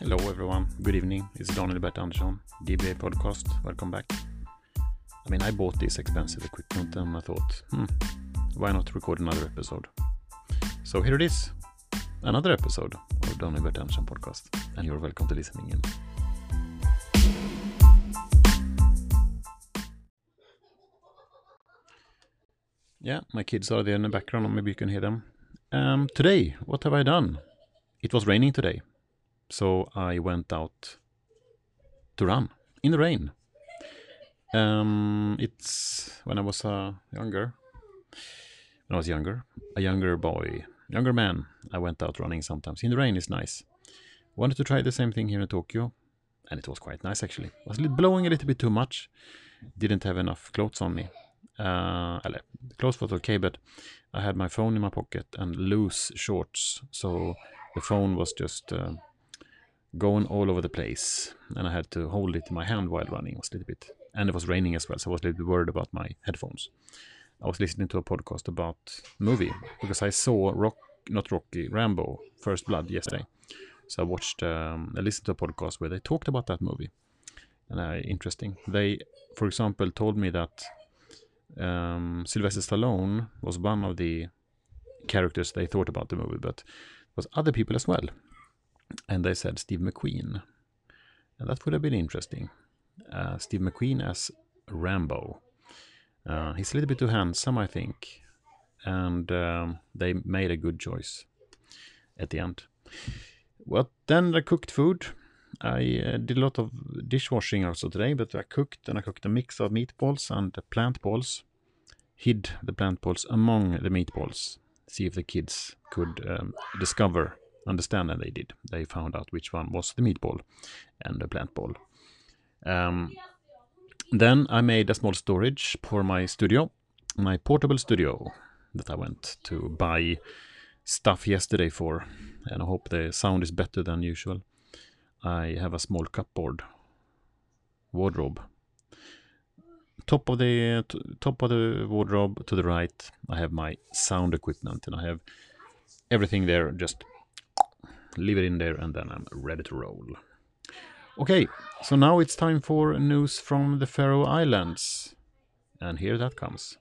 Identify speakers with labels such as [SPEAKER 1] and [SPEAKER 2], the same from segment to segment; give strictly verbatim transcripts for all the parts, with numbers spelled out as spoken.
[SPEAKER 1] Hello everyone, good evening, it's Daniel Bert Andersson, D B A podcast, welcome back. I mean, I bought this expensive equipment and I thought, hmm, why not record another episode? So here it is, another episode of Daniel Bert Andersson podcast, and you're welcome to listening in. Yeah, my kids are there in the background, or maybe you can hear them. Um, today, what have I done? It was raining today. So I went out to run in the rain. Um, it's when I was uh, younger. When I was younger, a younger boy, younger man, I went out running sometimes. In the rain is nice. Wanted to try the same thing here in Tokyo, and it was quite nice actually. It was blowing a little bit too much. Didn't have enough clothes on me. Uh, eller, the clothes was okay, but I had my phone in my pocket and loose shorts, so the phone was just uh, going all over the place, and I had to hold it in my hand while running. It was a little bit, and it was raining as well, so I was a little bit worried about my headphones. I was listening to a podcast about movie because I saw Rock, not Rocky, Rambo, First Blood yesterday. So I watched, um, I listened to a podcast where they talked about that movie, and uh, interesting. They, for example, told me that um, Sylvester Stallone was one of the characters they thought about the movie, but there was other people as well. And they said Steve McQueen. And that would have been interesting. Uh, Steve McQueen as Rambo. Uh, he's a little bit too handsome, I think. And um, they made a good choice at the end. Well, then I cooked food. I uh, did a lot of dishwashing also today, but I cooked, and I cooked a mix of meatballs and plant balls. Hid the plant balls among the meatballs. See if the kids could um, discover understand, and they did. They found out which one was the meatball and the plant ball. Um, then I made a small storage for my studio, my portable studio that I went to buy stuff yesterday for, and I hope the sound is better than usual. I have a small cupboard wardrobe. Top of the t- top of the wardrobe to the right, I have my sound equipment, and I have everything there. Just leave it in there, and then I'm ready to roll. Okay, so now it's time for news from the Faroe Islands. And here that comes.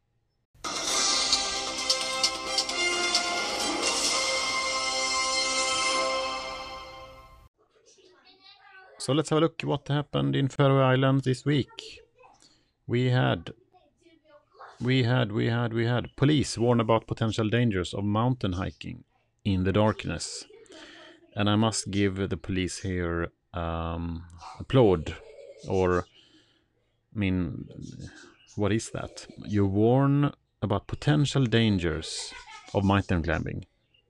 [SPEAKER 1] So let's have a look what happened in Faroe Islands this week. We had, we had, we had, we had police warn about potential dangers of mountain hiking in the darkness. And I must give the police here um, applaud, or, I mean, what is that? You warn about potential dangers of mountain climbing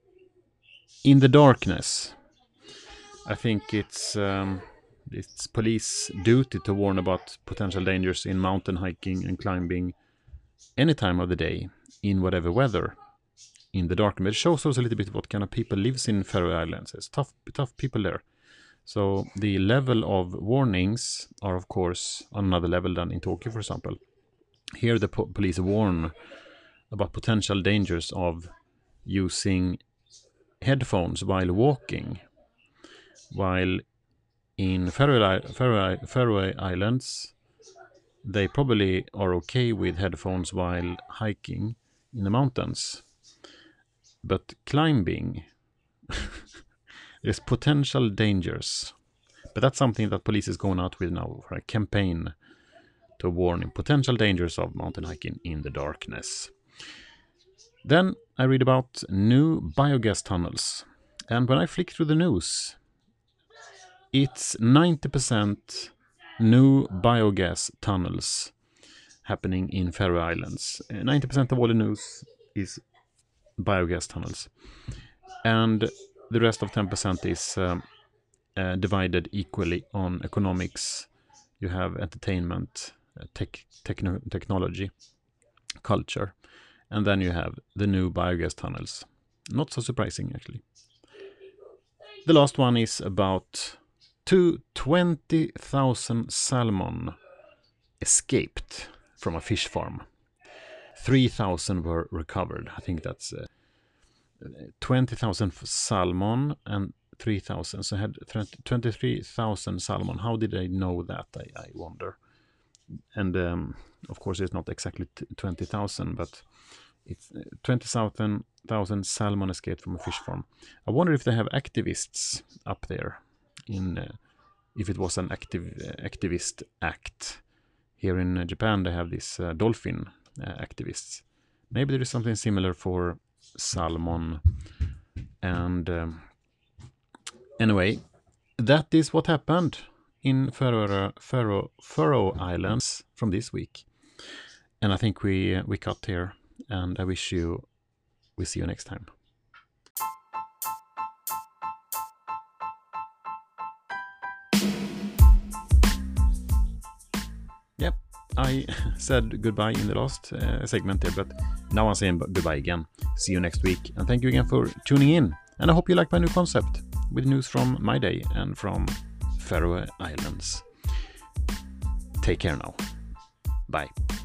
[SPEAKER 1] in the darkness. I think it's um, it's police duty to warn about potential dangers in mountain hiking and climbing any time of the day, in whatever weather. In the dark, it shows us a little bit what kind of people lives in Faroe Islands. It's tough, tough people there. So the level of warnings are, of course, on another level than in Tokyo, for example. Here, the po- police warn about potential dangers of using headphones while walking. While in Faroe, Faroe, Faroe Islands, they probably are okay with headphones while hiking in the mountains. But climbing, there's potential dangers. But that's something that police is going out with now for a campaign to warn potential dangers of mountain hiking in the darkness. Then I read about new biogas tunnels. And when I flick through the news, it's ninety percent new biogas tunnels happening in Faroe Islands. ninety percent of all the news is biogas tunnels, and the rest of ten percent is um, uh, divided equally on economics. You have entertainment, uh, tech, techno- technology, culture, and then you have the new biogas tunnels. Not so surprising, actually. The last one is about two twenty thousand salmon escaped from a fish farm. three thousand were recovered. I think that's uh, twenty thousand salmon and twenty-three thousand. So I had twenty-three thousand salmon. How did I know that? I, I wonder. And um, of course, it's not exactly twenty thousand, but it's twenty thousand salmon escaped from a fish farm. I wonder if they have activists up there. In uh, if it was an active uh, activist act. Here in uh, Japan, they have these uh, dolphin uh, activists. Maybe there is something similar for salmon. And um, anyway, that is what happened in Faroe, Faroe, Faroe Islands from this week. And I think we uh, we cut here. And I wish you, we see you next time. Yep, I said goodbye in the last uh, segment there, but now I'm saying goodbye again. See you next week. And thank you again for tuning in. And I hope you like my new concept with news from my day and from Faroe Islands. Take care now. Bye.